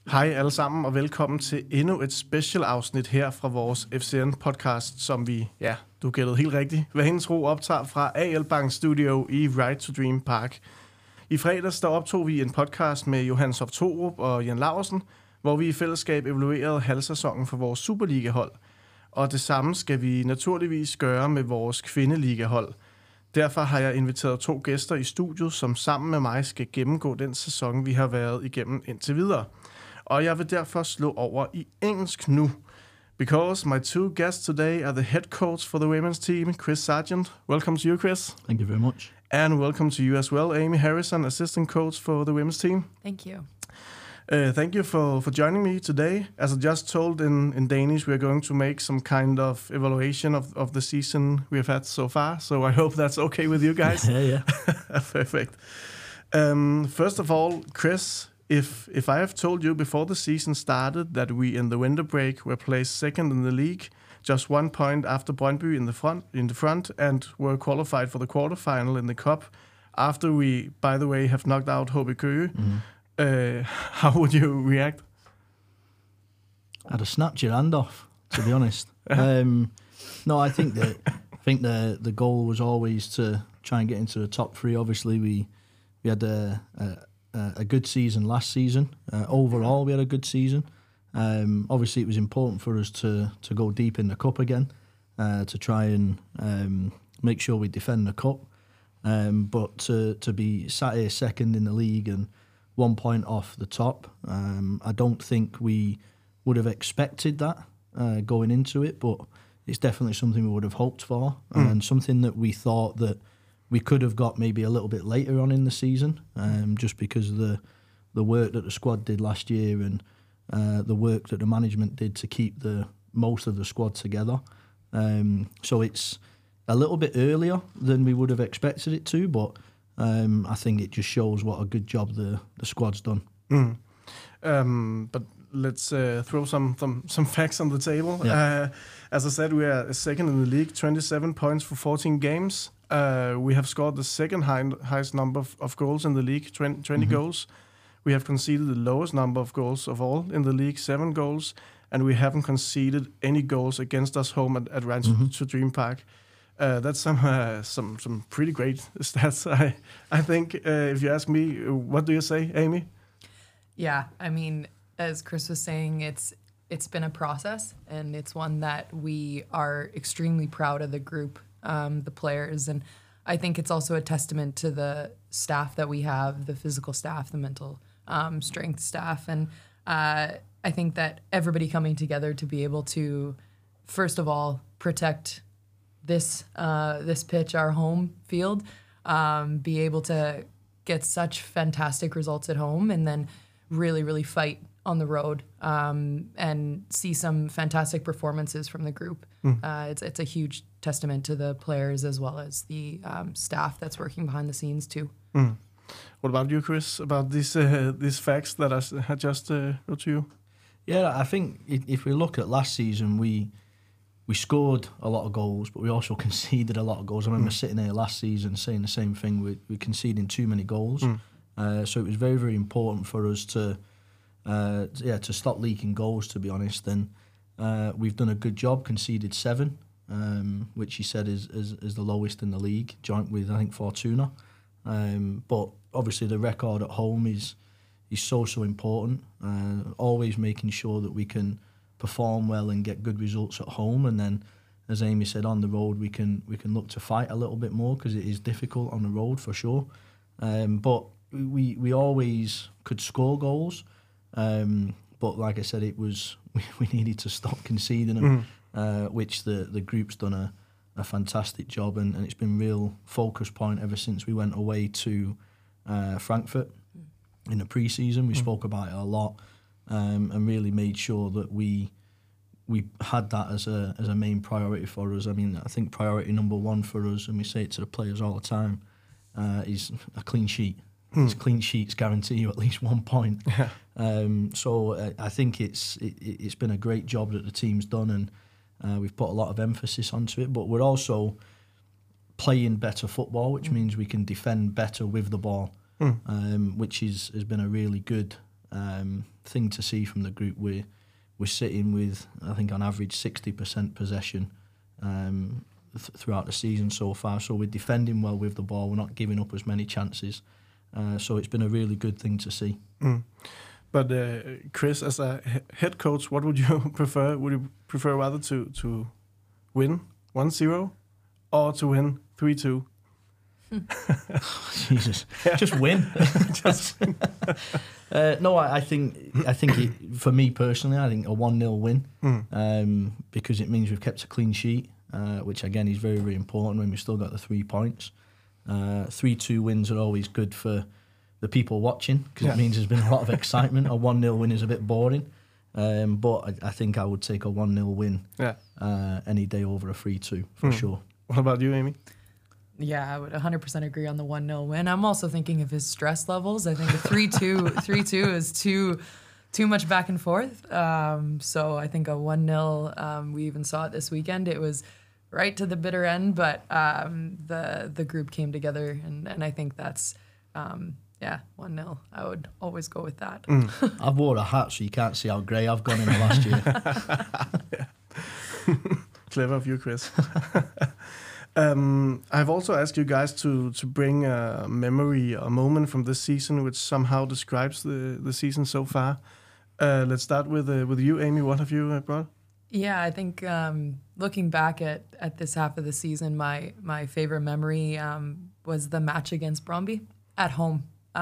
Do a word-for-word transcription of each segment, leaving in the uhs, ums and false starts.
Hej alle sammen, og velkommen til endnu et special afsnit her fra vores F C N-podcast, som vi, ja, du gættede helt rigtigt, hvad hendes tro optager fra A L Bank Studio i Right to Dream Park. I fredags der optog vi en podcast med Johan Hoff Torup og Jan Laursen, hvor vi i fællesskab evaluerede halvsæsonen for vores Superliga-hold. Og det samme skal vi naturligvis gøre med vores kvindeliga-hold. Derfor har jeg inviteret to gæster i studiet, som sammen med mig skal gennemgå den sæson, vi har været igennem indtil videre. Og jeg vil derfor slå over i engelsk nu. Because my two guests today are the head coach for the women's team, Chris Sargent. Welcome to you, Chris. Thank you very much. And welcome to you as well, Amy Harrison, assistant coach for the women's team. Thank you. Uh, thank you for, for joining me today. As I just told in, in Danish, we're going to make some kind of evaluation of, of the season we've had so far. So I hope that's okay with you guys. Yeah, yeah. Perfect. Um, first of all, Chris, if if I have told you before the season started that we in the winter break were placed second in the league, just one point after Brøndby in the front, in the front, and were qualified for the quarterfinal in the cup, after we, by the way, have knocked out H B Køge, mm-hmm. uh, how would you react? I'd have snapped your hand off, to be honest. um, no, I think that I think the the goal was always to try and get into the top three. Obviously, we we had a. a a good season last season. Uh, overall, we had a good season. Um, obviously, it was important for us to to go deep in the cup again, uh, to try and um, make sure we defend the cup. Um, but to to be sat here second in the league and one point off the top, um, I don't think we would have expected that uh, going into it. But it's definitely something we would have hoped for, mm. and something that we thought that we could have got maybe a little bit later on in the season, um, just because of the the work that the squad did last year and uh, the work that the management did to keep the most of the squad together. Um, so it's a little bit earlier than we would have expected it to, but um, I think it just shows what a good job the, the squad's done. Mm. Um, but let's uh, throw some, some some facts on the table. Yeah. Uh, as I said, we are second in the league, twenty-seven points for fourteen games. Uh, we have scored the second high, highest number of, of goals in the league, twenty, twenty mm-hmm. goals. We have conceded the lowest number of goals of all in the league, seven goals, and we haven't conceded any goals against us home at, at Right mm-hmm. to Dream Park. Uh, that's some uh, some some pretty great stats. I I think uh, if you ask me, what do you say, Amy? Yeah, I mean, as Chris was saying, it's it's been a process, and it's one that we are extremely proud of the group. Um, the players, and I think it's also a testament to the staff that we have, the physical staff, the mental um, strength staff, and uh, I think that everybody coming together to be able to, first of all, protect this uh, this pitch, our home field, um, be able to get such fantastic results at home, and then really, really fight on the road um, and see some fantastic performances from the group. Mm. Uh, it's it's a huge testament to the players as well as the um, staff that's working behind the scenes too. Mm. What about you, Chris? About these uh, these facts that I had just uh, wrote to you? Yeah, I think if we look at last season, we we scored a lot of goals, but we also conceded a lot of goals. I remember mm. sitting here last season saying the same thing. We we conceding too many goals, mm. uh, so it was very very important for us to. Uh, yeah, to stop leaking goals, to be honest. And uh, we've done a good job, conceded seven, um, which he said is, is is the lowest in the league, joint with, I think, Fortuna. Um, but obviously the record at home is is so, so important. Uh, always making sure that we can perform well and get good results at home. And then, as Amy said, on the road we can we can look to fight a little bit more, because it is difficult on the road for sure. Um, but we, we always could score goals. Um, but like I said, it was we, we needed to stop conceding them, mm. uh, which the, the group's done a, a fantastic job, and, and it's been real focus point ever since we went away to uh, Frankfurt in the pre-season. We mm. spoke about it a lot, um, and really made sure that we we had that as a as a main priority for us. I mean, I think priority number one for us, and we say it to the players all the time, uh, is a clean sheet. Hmm. These clean sheets guarantee you at least one point. Yeah. Um, so uh, I think it's it, it's been a great job that the team's done, and uh, we've put a lot of emphasis onto it. But we're also playing better football, which mm. means we can defend better with the ball, mm. um, which is has been a really good um, thing to see from the group. We're, we're sitting with, I think on average, sixty percent possession um, th- throughout the season so far. So we're defending well with the ball. We're not giving up as many chances. Uh, so it's been a really good thing to see. Mm. But uh, Chris, as a he- head coach, what would you prefer? Would you prefer rather to, to win one zero or to win three two? Jesus, yeah. Just win. Just win. uh, no, I, I think I think it, for me personally, I think a one nil win mm. um, because it means we've kept a clean sheet, uh, which again is very very important when we've still got the three points. Uh, three two wins are always good for the people watching because yeah. it means there's been a lot of excitement. A one nil win is a bit boring, um, but I, I think I would take a one nil win yeah. uh, any day over a three two for mm. sure. What about you, Amy? Yeah, I would one hundred percent agree on the one nil win. I'm also thinking of his stress levels. I think a three two three two is too too much back and forth. Um, so I think a one nil, um, we even saw it this weekend. It was right to the bitter end, but um, the the group came together, and, and I think that's, um, yeah, one nil. I would always go with that. Mm. I've wore a hat, so you can't see how grey I've gone in the last year. Clever of you, Chris. Um, I've also asked you guys to to bring a memory, a moment from this season which somehow describes the, the season so far. Uh, let's start with uh, with you, Amy. What have you uh, brought? Yeah, I think um, looking back at, at this half of the season, my my favorite memory um, was the match against Brøndby at home.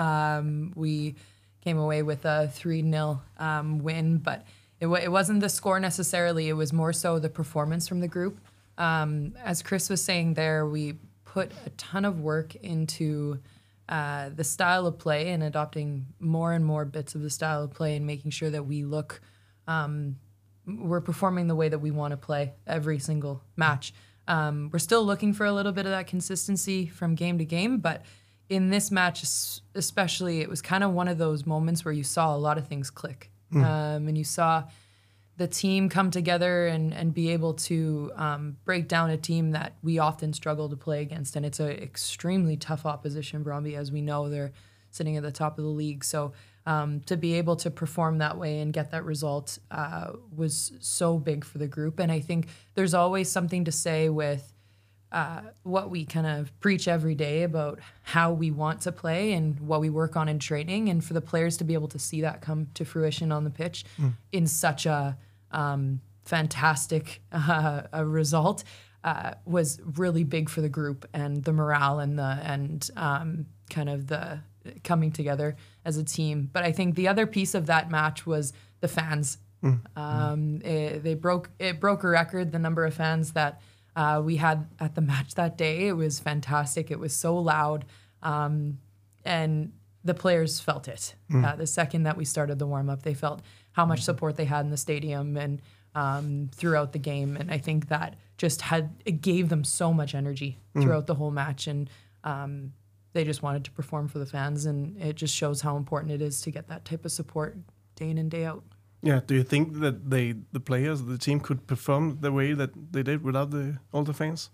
Um, we came away with a three nil um, win, but it, w- it wasn't the score necessarily. It was more so the performance from the group. Um, as Chris was saying there, we put a ton of work into uh, the style of play and adopting more and more bits of the style of play and making sure that we look, um, we're performing the way that we want to play every single match. Um, we're still looking for a little bit of that consistency from game to game, but in this match especially, it was kind of one of those moments where you saw a lot of things click. Mm. Um, and you saw the team come together and, and be able to um, break down a team that we often struggle to play against. And it's an extremely tough opposition, Brøndby. As we know, they're sitting at the top of the league. So um, to be able to perform that way and get that result uh, was so big for the group. And I think there's always something to say with uh, what we kind of preach every day about how we want to play and what we work on in training. And for the players to be able to see that come to fruition on the pitch mm. in such a Um, fantastic uh, a result uh, was really big for the group and the morale and the and um, kind of the coming together as a team. But I think the other piece of that match was the fans. Mm. Um, it, they broke it broke a record, the number of fans that uh, we had at the match that day. It was fantastic. It was so loud, um, and the players felt it. Mm. Uh, the second that we started the warm up, they felt how much support they had in the stadium and um, throughout the game. And I think that just had, it gave them so much energy throughout mm. the whole match. And um, they just wanted to perform for the fans. And it just shows how important it is to get that type of support day in and day out. Yeah. Do you think that they, the players, the team could perform the way that they did without the all the fans?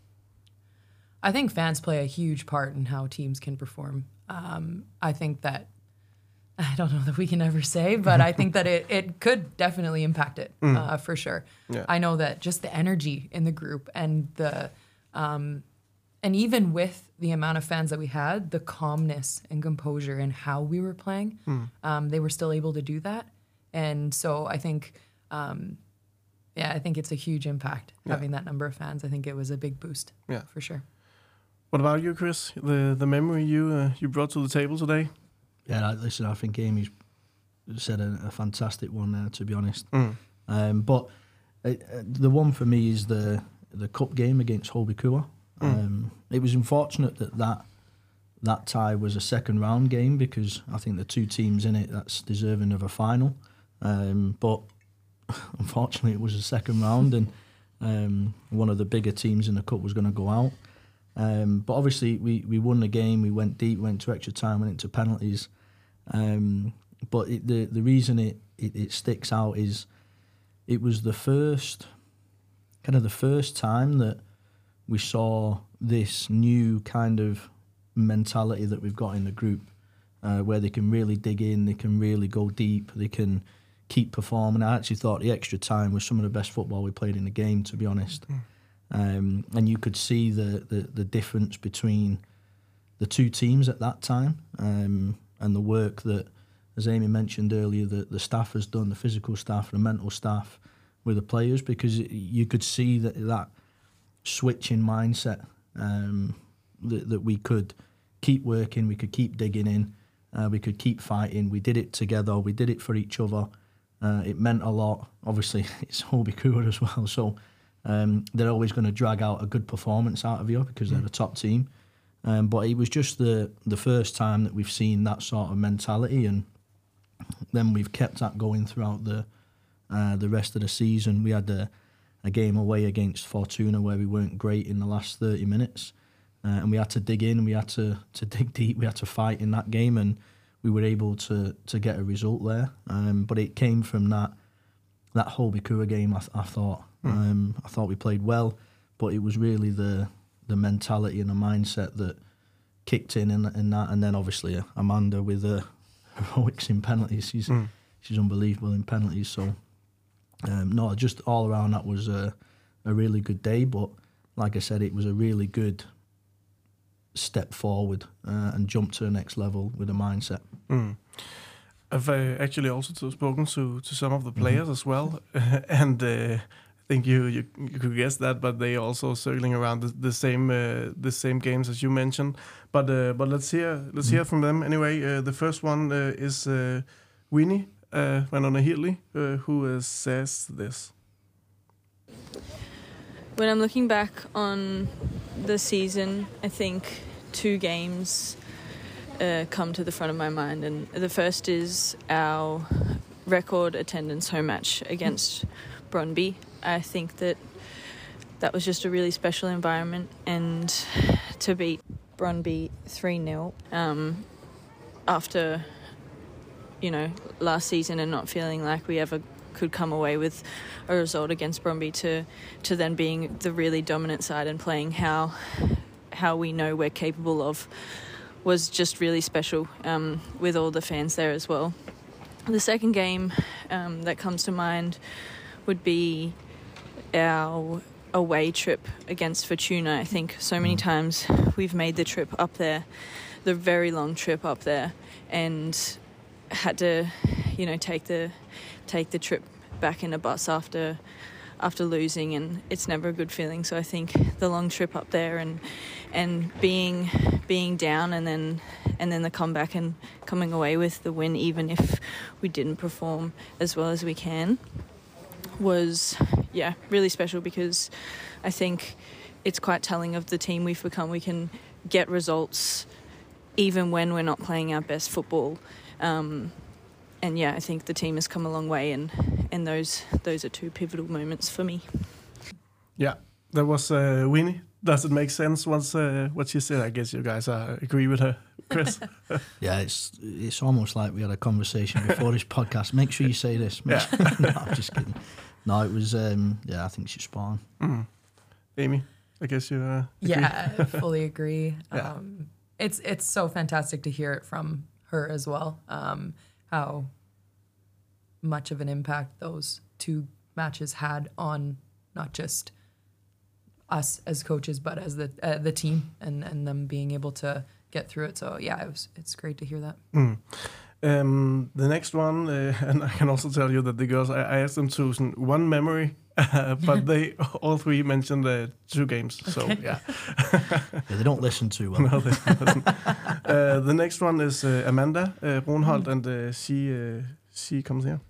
I think fans play a huge part in how teams can perform. Um, I think that, I don't know that we can ever say, but I think that it, it could definitely impact it mm. uh, for sure. Yeah. I know that just the energy in the group and the, um, and even with the amount of fans that we had, the calmness and composure in how we were playing, mm. um, they were still able to do that. And so I think, um, yeah, I think it's a huge impact yeah. having that number of fans. I think it was a big boost yeah. for sure. What about you, Chris? The the memory you uh, you brought to the table today? Yeah, listen, I think Amy's said a, a fantastic one there, to be honest. Mm. Um, but uh, the one for me is the the cup game against Holby Kua. Mm. Um, it was unfortunate that, that that tie was a second round game because I think the two teams in it that's deserving of a final. Um, but unfortunately, it was a second round, and um, one of the bigger teams in the cup was going to go out. Um, but obviously, we, we won the game. We went deep, went to extra time, went into penalties. Um, but it, the the reason it, it, it sticks out is it was the first, kind of the first time that we saw this new kind of mentality that we've got in the group. uh, where they can really dig in, they can really go deep, they can keep performing. I actually thought the extra time was some of the best football we played in the game, to be honest. Mm. Um, and you could see the, the, the difference between the two teams at that time, um, and the work that, as Amy mentioned earlier, the, the staff has done, the physical staff, the mental staff with the players, because you could see that that switch in mindset, um, that, that we could keep working, we could keep digging in, uh, we could keep fighting. We did it together, we did it for each other. Uh, it meant a lot. Obviously, it's Hobie Kua as well, so um, they're always going to drag out a good performance out of you because they're the top team. Um, but it was just the the first time that we've seen that sort of mentality, and then we've kept that going throughout the uh, the rest of the season. We had a, a game away against Fortuna where we weren't great in the last thirty minutes, uh, and we had to dig in, we had to, to dig deep, we had to fight in that game, and we were able to to get a result there. Um, but it came from that that Hobie Kua game. I, th- I thought mm. um, I thought we played well, but it was really the the mentality and the mindset that kicked in in, in that. And then obviously uh, Amanda with the heroics in penalties. She's mm. she's unbelievable in penalties. So um, no, just all around that was a a really good day. But like I said, it was a really good step forward uh, and jump to the next level with a mindset. Mm. I've uh, actually also spoken to, to some of the players mm-hmm. as well, and uh, I think you, you you could guess that, but they also circling around the, the same uh, the same games as you mentioned. But uh, but let's hear let's mm-hmm. hear from them anyway. Uh, the first one uh, is uh, Winnie uh, Vanona-Hirli, uh, who uh, says this. When I'm looking back on the season, I think two games uh, come to the front of my mind, and the first is our record attendance home match against Brøndby. I think that that was just a really special environment, and to beat Brøndby three nil um, after, you know, last season and not feeling like we ever could come away with a result against Brøndby, to to then being the really dominant side and playing how how we know we're capable of, was just really special, um, with all the fans there as well. The second game um, that comes to mind would be our away trip against Fortuna. I think so many times we've made the trip up there, the very long trip up there, and had to, you know, take the take the trip back in a bus after after losing, and it's never a good feeling. So I think the long trip up there and and being being down and then and then the comeback and coming away with the win, even if we didn't perform as well as we can, was yeah really special, because I think it's quite telling of the team we've become. We can get results even when we're not playing our best football. Um, And yeah, I think the team has come a long way, and, and those those are two pivotal moments for me. Yeah, that was uh, Winnie. Does it make sense once uh, what she said? I guess you guys uh, agree with her, Chris. Yeah, it's it's almost like we had a conversation before this podcast. Make sure you say this. Make Yeah. sure, no, I'm just kidding. No, it was. Um, yeah, I think she's spot on. Mm. Amy, I guess you. Uh, agree. Yeah, I fully agree. Yeah. Um, it's it's so fantastic to hear it from her as well. Um, how much of an impact those two matches had on not just us as coaches, but as the uh, the team, and, and them being able to get through it. So yeah, it was it's great to hear that. Mm. Um, the next one, uh, and I can also tell you that the girls, I, I asked them to some, one memory, uh, but they all three mentioned uh, two games. So Okay. yeah. Yeah, they don't listen too well. No, they don't. uh, the next one is uh, Amanda uh, Brunholt, and uh, she uh, she comes here.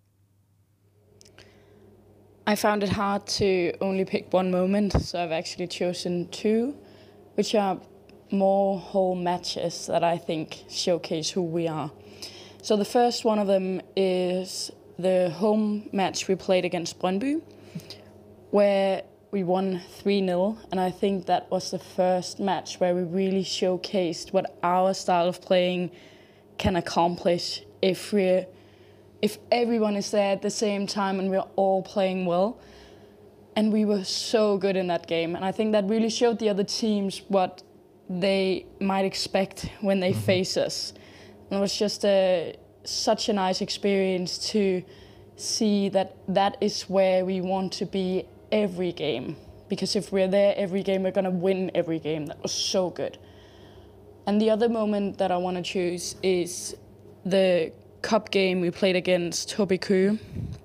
I found it hard to only pick one moment, so I've actually chosen two, which are more whole matches that I think showcase who we are. So the first one of them is the home match we played against Brøndby, where we won three nil, and I think that was the first match where we really showcased what our style of playing can accomplish if we're if everyone is there at the same time and we're all playing well. And we were so good in that game. And I think that really showed the other teams what they might expect when they mm-hmm. face us. And it was just a, such a nice experience to see that that is where we want to be every game. Because if we're there every game, we're going to win every game. That was so good. And the other moment that I want to choose is the cup game we played against H B K.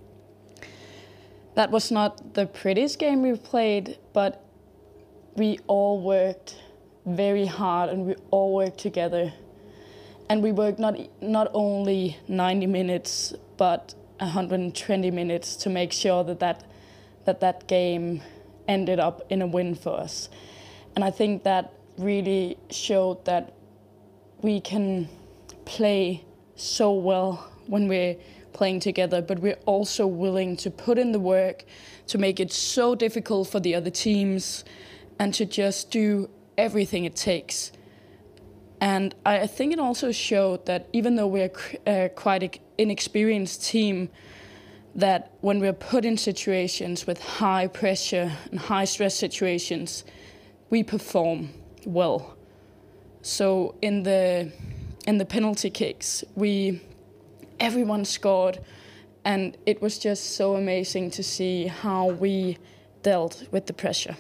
That was not the prettiest game we played, but we all worked very hard and we all worked together. And we worked not not only ninety minutes, but one hundred twenty minutes to make sure that that, that that game ended up in a win for us. And I think that really showed that we can play so well when we're playing together, but we're also willing to put in the work to make it so difficult for the other teams and to just do everything it takes. And I think it also showed that even though we're uh, quite an inexperienced team, that when we're put in situations with high pressure and high stress situations, we perform well. So in the in the penalty kicks, we everyone scored, and it was just so amazing to see how we dealt with the pressure.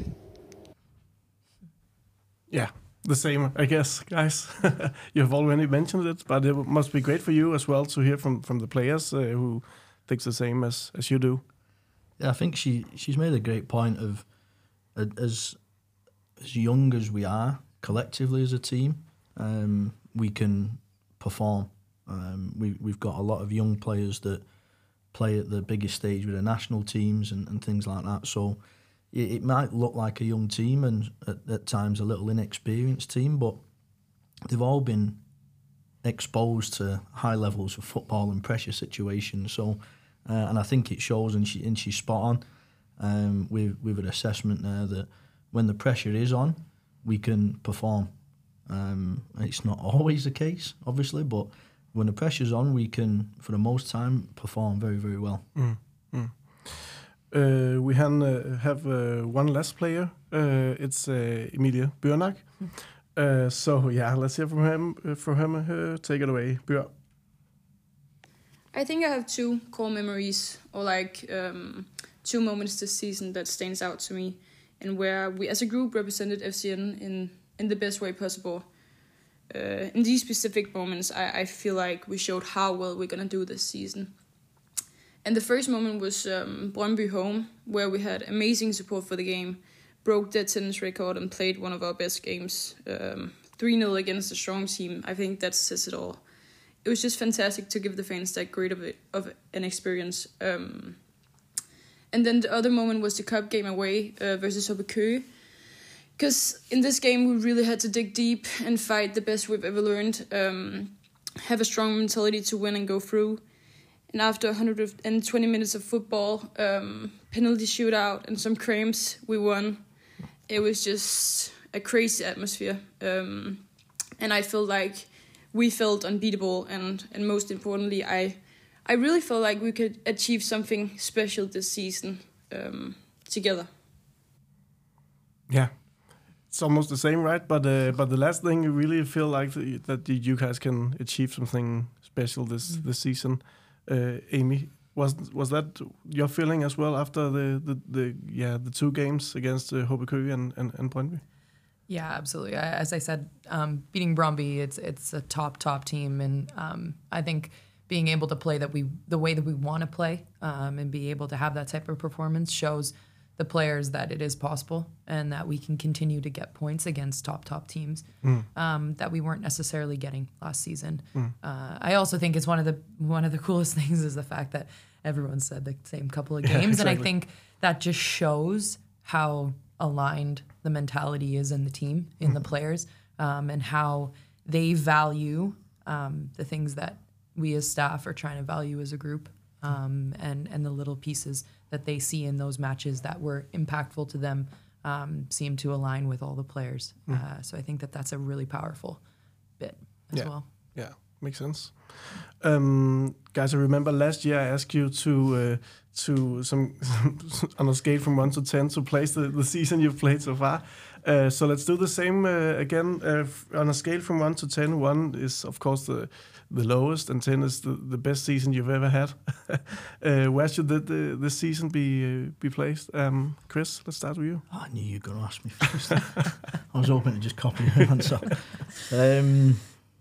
Yeah, the same, I guess, guys. You have already mentioned it, but it must be great for you as well to hear from, from the players uh, who think the same as, as you do. Yeah, I think she she's made a great point of uh, as as young as we are collectively as a team, um, we can perform. Um, we we've got a lot of young players that play at the biggest stage with the national teams and, and things like that. So it, it might look like a young team and at, at times a little inexperienced team, but they've all been exposed to high levels of football and pressure situations. So, uh, and I think it shows, and she and she's spot on um, with with an assessment there that when the pressure is on, we can perform. Um, it's not always the case, obviously, but when the pressure's on, we can, for the most time, perform very, very well. Mm, mm. Uh, we can, uh, have uh, one last player. Uh, it's uh, Emilie Bjørnak. Mm. Uh, so, yeah, let's hear from him. Uh, from him. Uh, take it away, Bjørn. I think I have two core memories, or like um, two moments this season that stands out to me, and where we, as a group, represented F C N in, in the best way possible. Uh, in these specific moments, I, I feel like we showed how well we're going to do this season. And the first moment was um, Brøndby home, where we had amazing support for the game, broke the attendance record and played one of our best games, um, three nil against a strong team. I think that says it all. It was just fantastic to give the fans that great of, it, of an experience. Um, and then the other moment was the cup game away uh, versus H B K. Because in this game, we really had to dig deep and fight the best we've ever learned, um, have a strong mentality to win and go through. And after one hundred twenty minutes of football, um, penalty shootout and some cramps, we won. It was just a crazy atmosphere. Um, and I felt like we felt unbeatable. And, and most importantly, I I really felt like we could achieve something special this season um, together. Yeah. It's almost the same, right? But uh, but the last thing, you really feel like the, that you guys can achieve something special this mm. this season. Uh, Amy, was was that your feeling as well after the the, the yeah the two games against uh, H B K and and, and Brøndby? Yeah, absolutely. I, as I said, um, beating Brøndby, it's it's a top top team, and um, I think being able to play that we the way that we want to play um, and be able to have that type of performance shows the players that it is possible and that we can continue to get points against top, top teams mm. um, that we weren't necessarily getting last season. Mm. Uh, I also think it's one of the one of the coolest things is the fact that everyone said the same couple of games. Yeah, exactly. And I think that just shows how aligned the mentality is in the team, in mm. the players, um, and how they value um, the things that we as staff are trying to value as a group. Um, and, and the little pieces that they see in those matches that were impactful to them um, seem to align with all the players. Mm. Uh, so I think that that's a really powerful bit as yeah. well. Yeah, makes sense. Um, guys, I remember last year I asked you to uh, to some on a scale from one to ten to place the, the season you've played so far. Uh, so let's do the same uh, again. Uh, f- on a scale from one to ten, one is of course the the lowest, and ten is the, the best season you've ever had. uh, where should the, the, this season be uh, be placed? Um, Chris, let's start with you. Oh, I knew you were going to ask me first. I was hoping to just copy your answer. Um,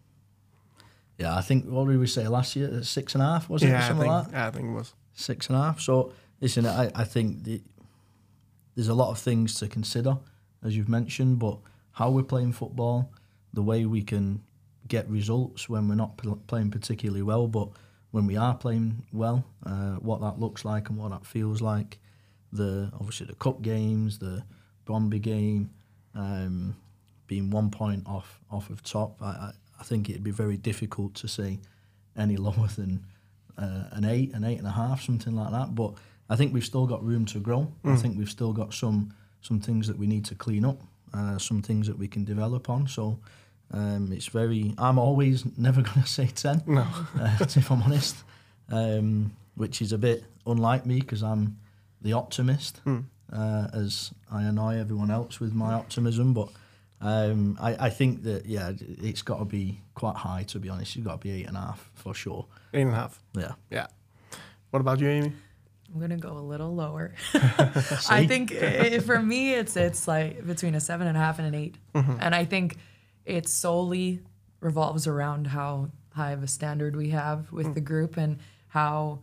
yeah, I think, what did we say last year? Six and a half, was it? Yeah, I Something think, like that? yeah, I think it was. Six and a half. So, listen, I, I think the, there's a lot of things to consider, as you've mentioned, but how we're playing football, the way we can get results when we're not pl- playing particularly well, but when we are playing well, uh, what that looks like and what that feels like. The obviously the cup games, the Bromby game, um, being one point off off of top. I, I, I think it'd be very difficult to say any lower than uh, an eight, an eight and a half, something like that. But I think we've still got room to grow. Mm. I think we've still got some some things that we need to clean up, uh, some things that we can develop on. So. Um, it's very. I'm always never going to say ten. No, uh, if I'm honest, um, which is a bit unlike me because I'm the optimist, mm. uh, as I annoy everyone else with my optimism. But um, I, I think that yeah, it's got to be quite high. To be honest, you've got to be eight and a half for sure. Eight and a half. Yeah. Yeah. What about you, Amy? I'm gonna go a little lower. I think it, for me, it's it's like between a seven and a half and an eight, mm-hmm. and I think. It solely revolves around how high of a standard we have with mm. the group and how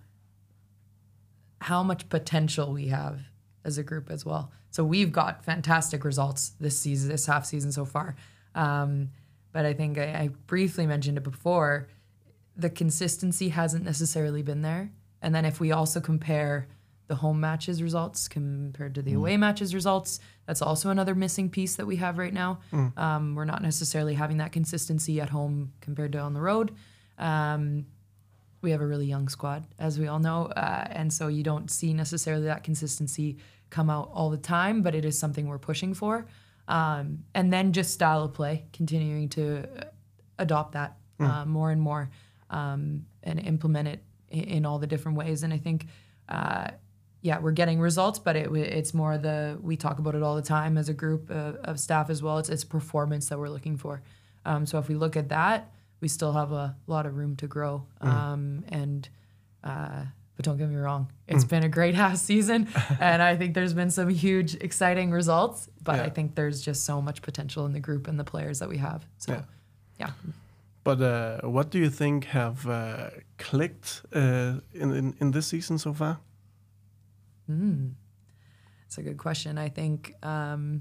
how much potential we have as a group as well. So we've got fantastic results this season, this half season so far. Um, but I think I, I briefly mentioned it before, the consistency hasn't necessarily been there. And then if we also compare the home matches results compared to the mm. away matches results, that's also another missing piece that we have right now. Mm. Um, we're not necessarily having that consistency at home compared to on the road. Um, we have a really young squad, as we all know, uh, and so you don't see necessarily that consistency come out all the time, but it is something we're pushing for. Um, and then just style of play, continuing to adopt that mm. uh, more and more um, and implement it in, in all the different ways. And I think... Uh, Yeah, we're getting results, but it, it's more the, we talk about it all the time as a group uh, of staff as well. It's, it's performance that we're looking for. Um, so if we look at that, we still have a lot of room to grow. Mm. Um, and uh, but don't get me wrong, it's mm. been a great half season, and I think there's been some huge, exciting results. But yeah. I think there's just so much potential in the group and the players that we have. So, yeah. yeah. But uh, what do you think have uh, clicked uh, in, in in this season so far? Mm. That's a good question. I think um,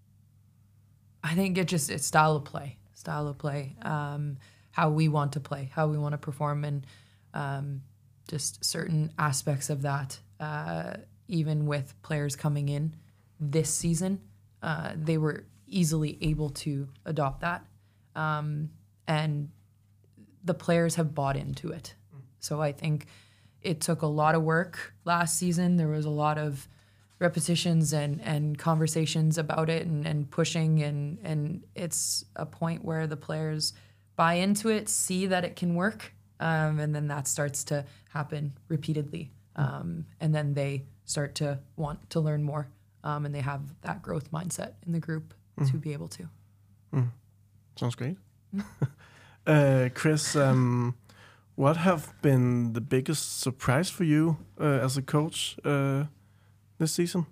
I think it just it's style of play, style of play, um, how we want to play, how we want to perform, and um, just certain aspects of that. Uh, even with players coming in this season, uh, they were easily able to adopt that, um, and the players have bought into it. Mm. So I think. It took a lot of work last season. There was a lot of repetitions and, and conversations about it and, and pushing, and, and it's a point where the players buy into it, see that it can work, um, and then that starts to happen repeatedly. Um, and then they start to want to learn more, um, and they have that growth mindset in the group mm. to be able to. Mm. Sounds great. Mm. uh, Chris, um, what have been the biggest surprise for you uh, as a coach uh, this season?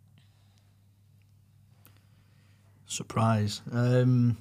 Surprise. Um,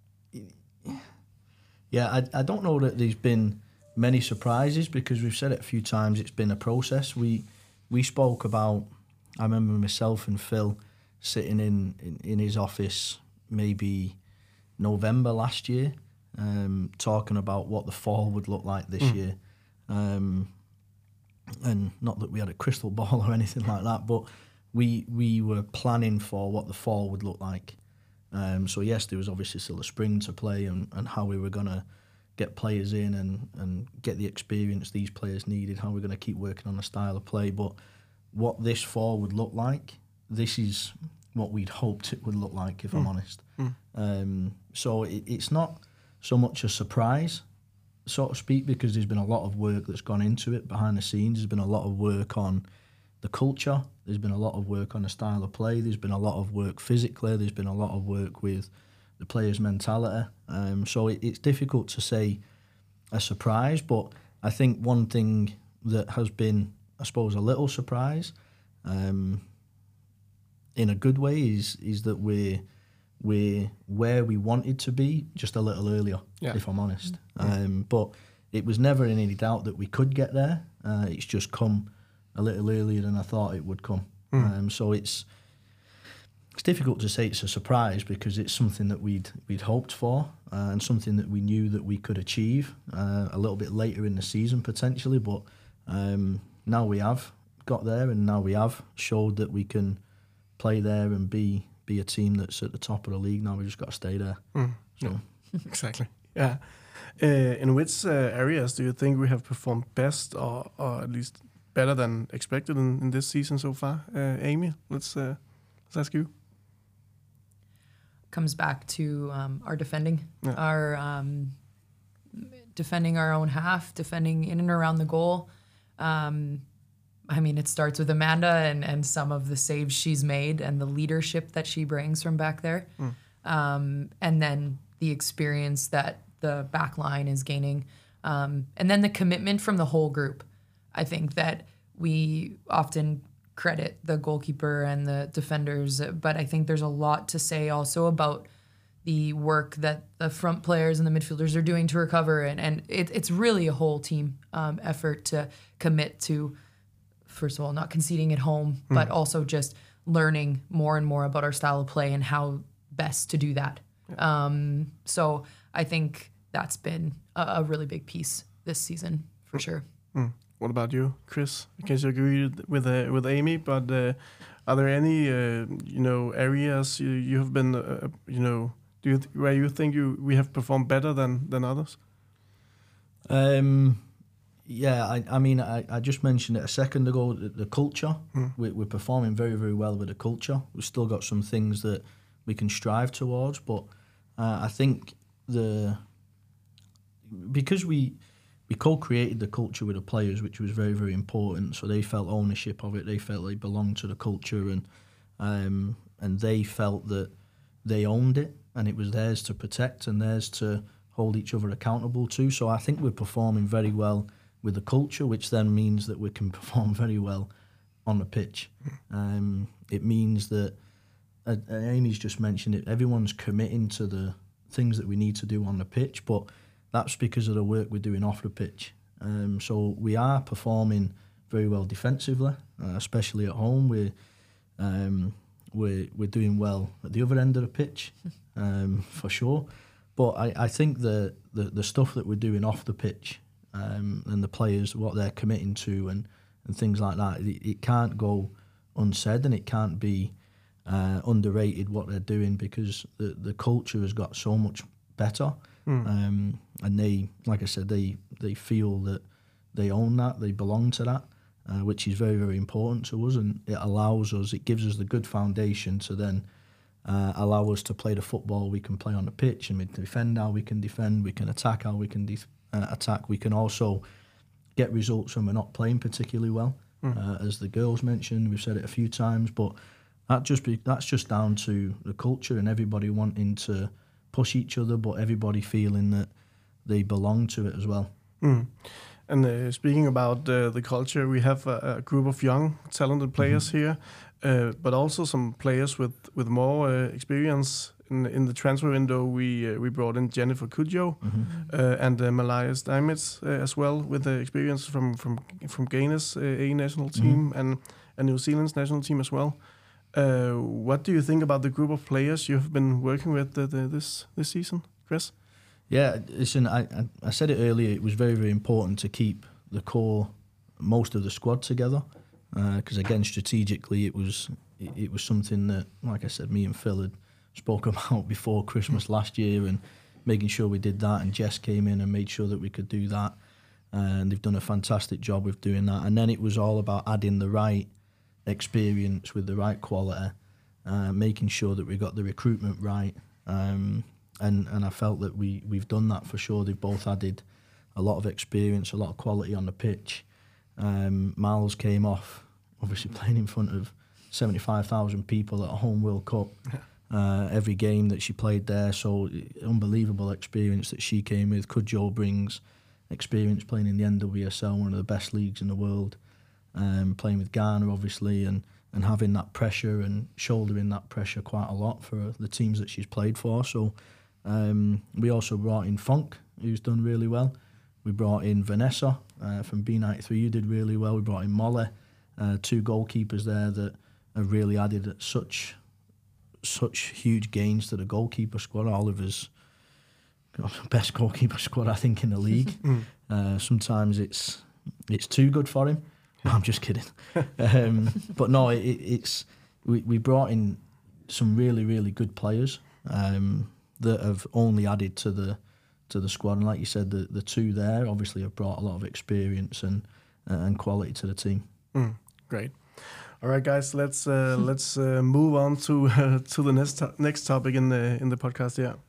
yeah, I, I don't know that there's been many surprises because we've said it a few times. It's been a process. We we spoke about, I remember myself and Phil sitting in, in, in his office maybe November last year, Um, talking about what the fall would look like this mm. year. Um, and not that we had a crystal ball or anything like that, but we we were planning for what the fall would look like. Um, so yes, there was obviously still a spring to play and, and how we were going to get players in and, and get the experience these players needed, how we're going to keep working on the style of play. But what this fall would look like, this is what we'd hoped it would look like, if mm. I'm honest. Mm. Um, so it, it's not... so much a surprise, so to speak, because there's been a lot of work that's gone into it behind the scenes. There's been a lot of work on the culture. There's been a lot of work on the style of play. There's been a lot of work physically. There's been a lot of work with the players' mentality. Um, so it, it's difficult to say a surprise, but I think one thing that has been, I suppose, a little surprise, um, in a good way, is is that we're we're where we wanted to be just a little earlier, yeah. if I'm honest. Mm-hmm. Um, but it was never in any doubt that we could get there. Uh, it's just come a little earlier than I thought it would come. Mm. Um, so it's it's difficult to say it's a surprise because it's something that we'd we'd hoped for uh, and something that we knew that we could achieve uh, a little bit later in the season potentially. But um, now we have got there, and now we have showed that we can play there and be be a team that's at the top of the league. Now we just got to stay there. Mm. So yeah. Exactly. Yeah. Uh, in which uh, areas do you think we have performed best, or, or at least better than expected in, in this season so far? Uh, Amy, let's uh, let's ask you. Comes back to um, our defending, yeah. our um, defending our own half, defending in and around the goal. Um, I mean, it starts with Amanda and, and some of the saves she's made and the leadership that she brings from back there. Mm. Um, and then the experience that the back line is gaining. Um, and then the commitment from the whole group. I think that we often credit the goalkeeper and the defenders, but I think there's a lot to say also about the work that the front players and the midfielders are doing to recover. And, and it, it's really a whole team um, effort to commit to, first of all, not conceding at home, mm. but also just learning more and more about our style of play and how best to do that. Yeah. Um, so I think that's been a, a really big piece this season, for mm. sure. Mm. What about you, Chris? I guess you agree with uh, with Amy, but uh, are there any uh, you know areas you, you have been uh, you know do you th- where you think you we have performed better than than others? Um. Yeah, I, I mean, I, I just mentioned it a second ago, the, the culture. Mm. We, we're performing very, very well with the culture. We've still got some things that we can strive towards, but uh, I think the because we we co-created the culture with the players, which was very, very important, so they felt ownership of it, they felt they belonged to the culture, and um, and they felt that they owned it, and it was theirs to protect and theirs to hold each other accountable to. So I think we're performing very well with the culture, which then means that we can perform very well on the pitch. Um, it means that, uh, Amy's just mentioned it, everyone's committing to the things that we need to do on the pitch, but that's because of the work we're doing off the pitch. Um, so we are performing very well defensively, uh, especially at home. We're, um, we're, we're doing well at the other end of the pitch, um, for sure. But I, I think the, the, the stuff that we're doing off the pitch, Um, and the players, what they're committing to and, and things like that, it, it can't go unsaid, and it can't be uh, underrated what they're doing, because the, the culture has got so much better. Mm. Um, and they, like I said, they, they feel that they own that, they belong to that, uh, which is very, very important to us, and it allows us, it gives us the good foundation to then uh, allow us to play the football we can play on the pitch, and we can defend how we can defend, we can attack how we can defend. Uh, attack. We can also get results when we're not playing particularly well, mm. uh, as the girls mentioned. We've said it a few times, but that just be that's just down to the culture and everybody wanting to push each other, but everybody feeling that they belong to it as well. Mm. And uh, speaking about uh, the culture, we have a, a group of young, talented players mm-hmm. here, uh, but also some players with with more uh, experience. In, in the transfer window, we uh, we brought in Jennifer Kudjoe mm-hmm. uh, and uh, Malaya Steinmetz uh, as well, with the experience from from from Ghana's uh, A national team mm-hmm. and, and New Zealand's national team as well. Uh, what do you think about the group of players you have been working with the, the, this this season, Chris? Yeah, listen, I, I I said it earlier. It was very very important to keep the core, most of the squad together, because uh, again strategically it was it, it was something that, like I said, me and Phil had spoke about before Christmas last year, and making sure we did that, and Jess came in and made sure that we could do that, and they've done a fantastic job with doing that. And then it was all about adding the right experience with the right quality, uh, making sure that we got the recruitment right, um, and and I felt that we we've done that for sure. They've both added a lot of experience, a lot of quality on the pitch. um, Miles came off obviously playing in front of seventy-five thousand people at a home World Cup. Uh, every game that she played there, so unbelievable experience that she came with. Cudjoe brings experience playing in the N W S L, one of the best leagues in the world, um, playing with Ghana obviously, and, and having that pressure and shouldering that pressure quite a lot for the teams that she's played for. So um, we also brought in Funk, who's done really well. We brought in Vanessa uh, from B ninety-three, who did really well. We brought in Molly, uh, two goalkeepers there that have really added such such huge gains to the goalkeeper squad. Oliver's best goalkeeper squad, I think, in the league. mm. uh, sometimes it's it's too good for him. I'm just kidding. um, but no, it, it's we, we brought in some really, really good players um, that have only added to the to the squad. And like you said, the, the two there obviously have brought a lot of experience and uh, and quality to the team. Mm, great. All right, guys, let's uh, let's uh, move on to uh, to the next to- next topic in the in the podcast. Yeah,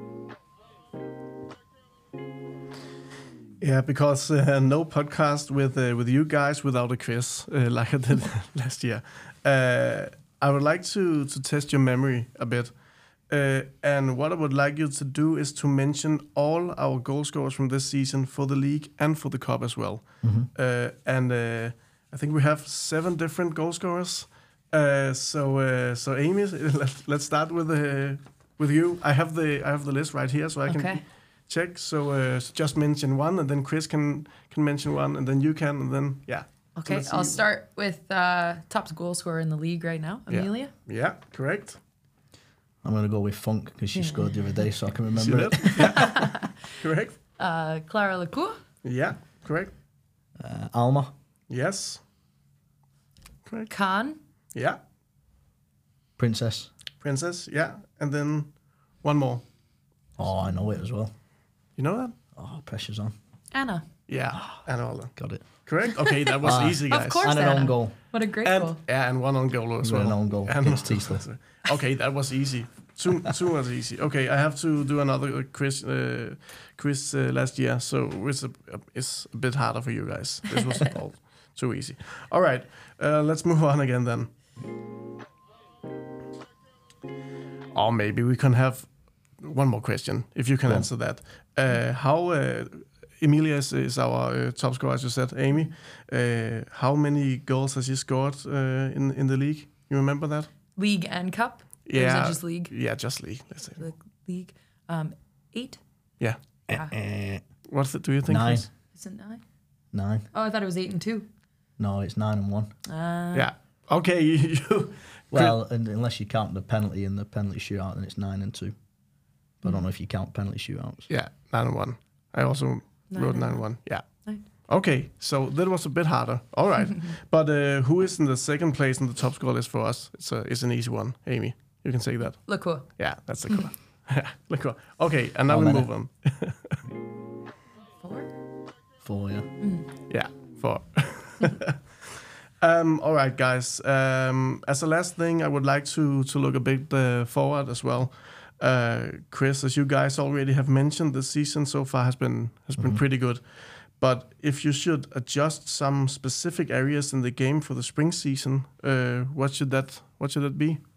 yeah, because uh, no podcast with uh, with you guys without a quiz uh, like I did last year. Uh, I would like to to test your memory a bit, uh, and what I would like you to do is to mention all our goal scorers from this season for the league and for the cup as well, mm-hmm. uh, and. Uh, I think we have seven different goal scorers. Uh, so, uh, so Amy, let's, let's start with uh, with you. I have the I have the list right here, so I Okay. can check. So, uh, so just mention one, and then Chris can can mention one, and then you can, and then yeah. Okay, let's I'll see. start with uh, top goal scorer in the league right now, Yeah. Amelia. Yeah, correct. I'm going to go with Funk because she scored the other day, so I can See remember that? it. Yeah. Correct. Uh, Clara Lecour. Yeah, correct. Uh, Alma, Yes. Correct. Khan. Yeah. Princess. Princess. Yeah, and then one more. Oh, I know it as well. You know that? Oh, pressure's on. Anna. Yeah, and all that. Got it. Correct. Okay, that was Ah. easy, guys. Of course, And an Anna. own goal. What a great And goal. yeah, and one on goal as We've got well. an own goal And- against Teesdale. Okay, that was easy. Too too was easy. Okay, I have to do another uh, quiz uh, quiz uh, last year, so it's a, it's a bit harder for you guys. This was all too easy. All right, uh, let's move on again then. Or maybe we can have one more question if you can Go on. answer that. Uh, how uh, Emilia is, is our uh, top scorer, as you said, Amy. Uh, how many goals has she scored uh, in in the league? You remember that? League and cup. Or is Yeah, it just league? Yeah, just league. Let's say. The league. Um, eight. Yeah. Yeah. Eh, What's it? Do you think? Nine. Chris? Is it nine? Nine. Oh, I thought it was eight and two. No, it's nine and one. Uh, Yeah. Okay. You, you Well, and, unless you count the penalty and the penalty shootout, then it's nine and two. But I don't know if you count penalty shootouts. yeah, nine and one. I also Nine wrote and nine and one. one. Yeah. Nine. Okay, so that was a bit harder. All right, but uh, who is in the second place in the top score list for us? It's a, it's an easy one, Amy. You can say that. Lecour. Yeah, that's the cool. Yeah, look. cool. Okay, and now How we many? move on. Four. Four, yeah. Yeah, four. um, all right, guys. Um, as a last thing, I would like to to look a bit uh, forward as well. Uh, Chris, as you guys already have mentioned, the season so far has been has been Mhm. pretty good. But if you should adjust some specific areas in the game for the spring season, uh, what should that what should that be?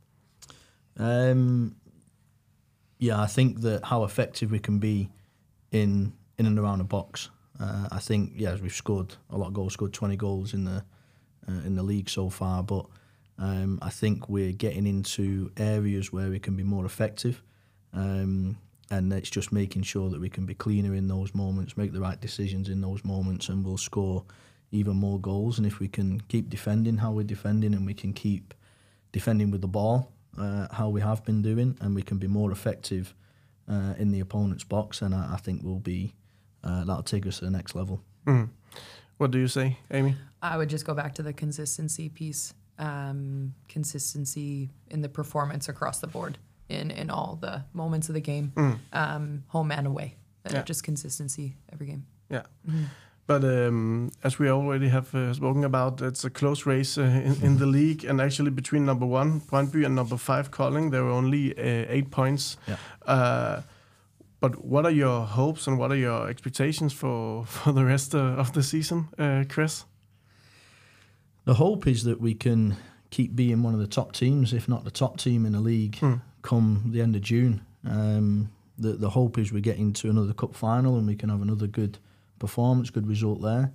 Um, yeah, I think that how effective we can be in in and around the box. Uh, I think yeah, we've scored a lot of goals, scored twenty goals in the uh, in the league so far. But um, I think we're getting into areas where we can be more effective, um, and it's just making sure that we can be cleaner in those moments, make the right decisions in those moments, and we'll score even more goals. And if we can keep defending how we're defending, and we can keep defending with the ball. Uh, how we have been doing, and we can be more effective uh, in the opponent's box, and I, I think we'll be uh, that'll take us to the next level. Mm. What do you say, Amy? I would just go back to the consistency piece. Um, consistency in the performance across the board in, in all the moments of the game, Mm. um, home and away. Uh, Yeah. Just consistency every game. Yeah. Mhm. But um, as we already have uh, spoken about, it's a close race uh, in, in the league, and actually between number one Brøndby and number five Kolding, there were only uh, eight points. Yeah. Uh, but what are your hopes and what are your expectations for, for the rest uh, of the season, uh, Chris? The hope is that we can keep being one of the top teams, if not the top team in the league, mm. come the end of June. Um, the the hope is we get into another cup final and we can have another good performance, good result there.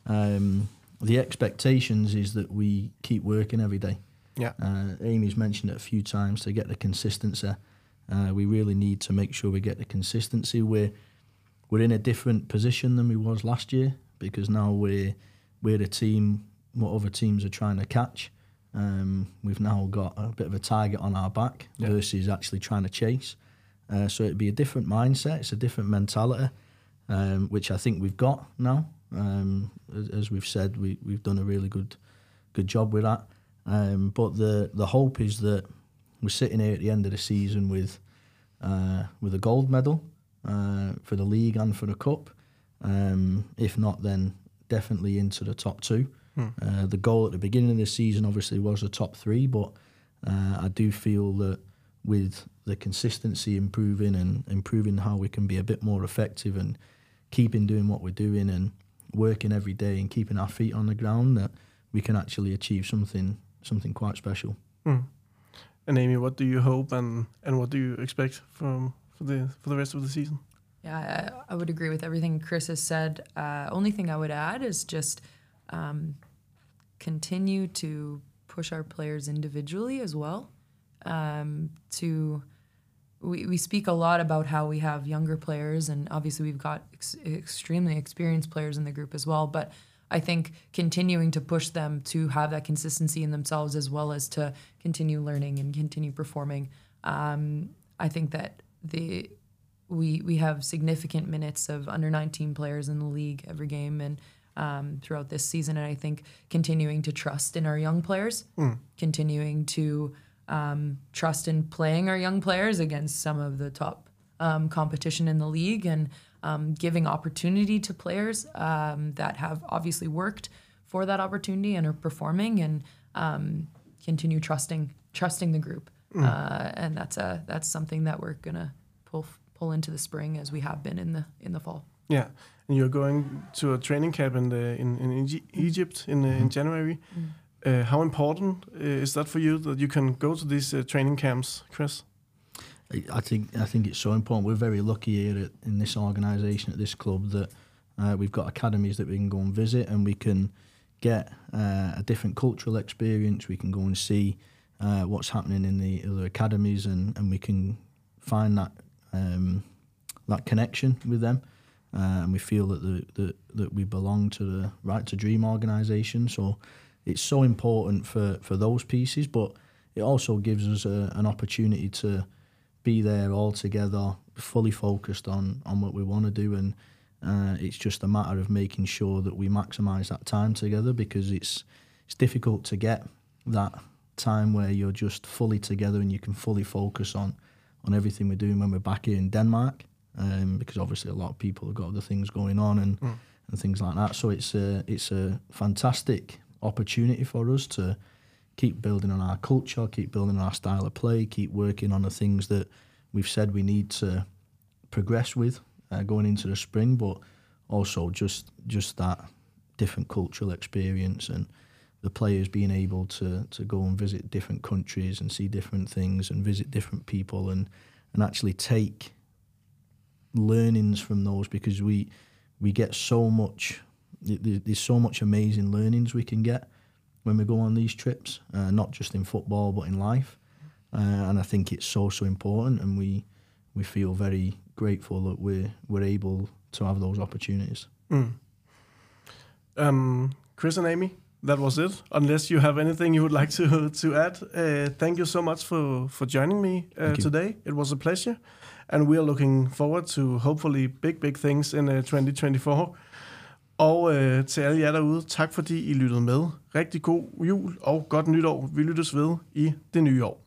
Um, the expectations is that we keep working every day. Yeah. Uh, Amy's mentioned it a few times to get the consistency. Uh, we really need to make sure we get the consistency. We're we're in a different position than we was last year because now we're we're a team what other teams are trying to catch. Um, we've now got a bit of a target on our back yeah. versus actually trying to chase. Uh, so it'd be a different mindset. It's a different mentality, um, which I think we've got now. Um, as, as we've said, we we've done a really good good job with that. Um, but the the hope is that we're sitting here at the end of the season with uh, with a gold medal uh, for the league and for the cup. Um, if not, then definitely into the top two. Hmm. Uh, the goal at the beginning of the season obviously was a top three, but uh, I do feel that with the consistency improving and improving how we can be a bit more effective and keeping doing what we're doing and working every day and keeping our feet on the ground, that we can actually achieve something something quite special. Hmm. And Amy, what do you hope and, and what do you expect from for the for the rest of the season? Yeah, I, I would agree with everything Chris has said. Uh, only thing I would add is just um, continue to push our players individually as well. Um, to we, we speak a lot about how we have younger players, and obviously we've got ex- extremely experienced players in the group as well. But I think continuing to push them to have that consistency in themselves as well as to continue learning and continue performing. Um, I think that the we we have significant minutes of under nineteen players in the league every game and um, throughout this season. And I think continuing to trust in our young players, mm. continuing to um, trust in playing our young players against some of the top um, competition in the league and Um, giving opportunity to players um, that have obviously worked for that opportunity and are performing, and um, continue trusting trusting the group. Mm. Uh, and that's a that's something that we're gonna pull pull into the spring as we have been in the in the fall. Yeah, and you're going to a training camp in the in, in Egypt in uh, in January. Mm. Uh, how important uh, is that for you that you can go to these uh, training camps, Chris? I think I think it's so important. We're very lucky here at, in this organisation, at this club, that uh, we've got academies that we can go and visit, and we can get uh, a different cultural experience. We can go and see uh, what's happening in the other academies, and, and we can find that um, that connection with them. Uh, and we feel that the, the that we belong to the Right to Dream organisation. So it's so important for, for those pieces, but it also gives us a, an opportunity to be there all together, fully focused on, on what we want to do, and uh, it's just a matter of making sure that we maximise that time together, because it's it's difficult to get that time where you're just fully together and you can fully focus on, on everything we're doing when we're back here in Denmark, um, because obviously a lot of people have got other things going on and, mm. and things like that. So it's a, it's a fantastic opportunity for us to keep building on our culture, keep building on our style of play, keep working on the things that we've said we need to progress with uh, going into the spring, but also just just that different cultural experience and the players being able to to go and visit different countries and see different things and visit different people and, and actually take learnings from those, because we we get so much, there's so much amazing learnings we can get when we go on these trips, uh, not just in football but in life, uh, and I think it's so so important, and we we feel very grateful that we're we're able to have those opportunities. Mm. Um, Chris and Amy, that was it. Unless you have anything you would like to to add, uh, thank you so much for for joining me uh, today. It was a pleasure, and we are looking forward to hopefully big big things in uh, twenty twenty-four. Og øh, til alle jer derude, tak fordi I lyttede med. Rigtig god jul og godt nytår. Vi lyttes ved i det nye år.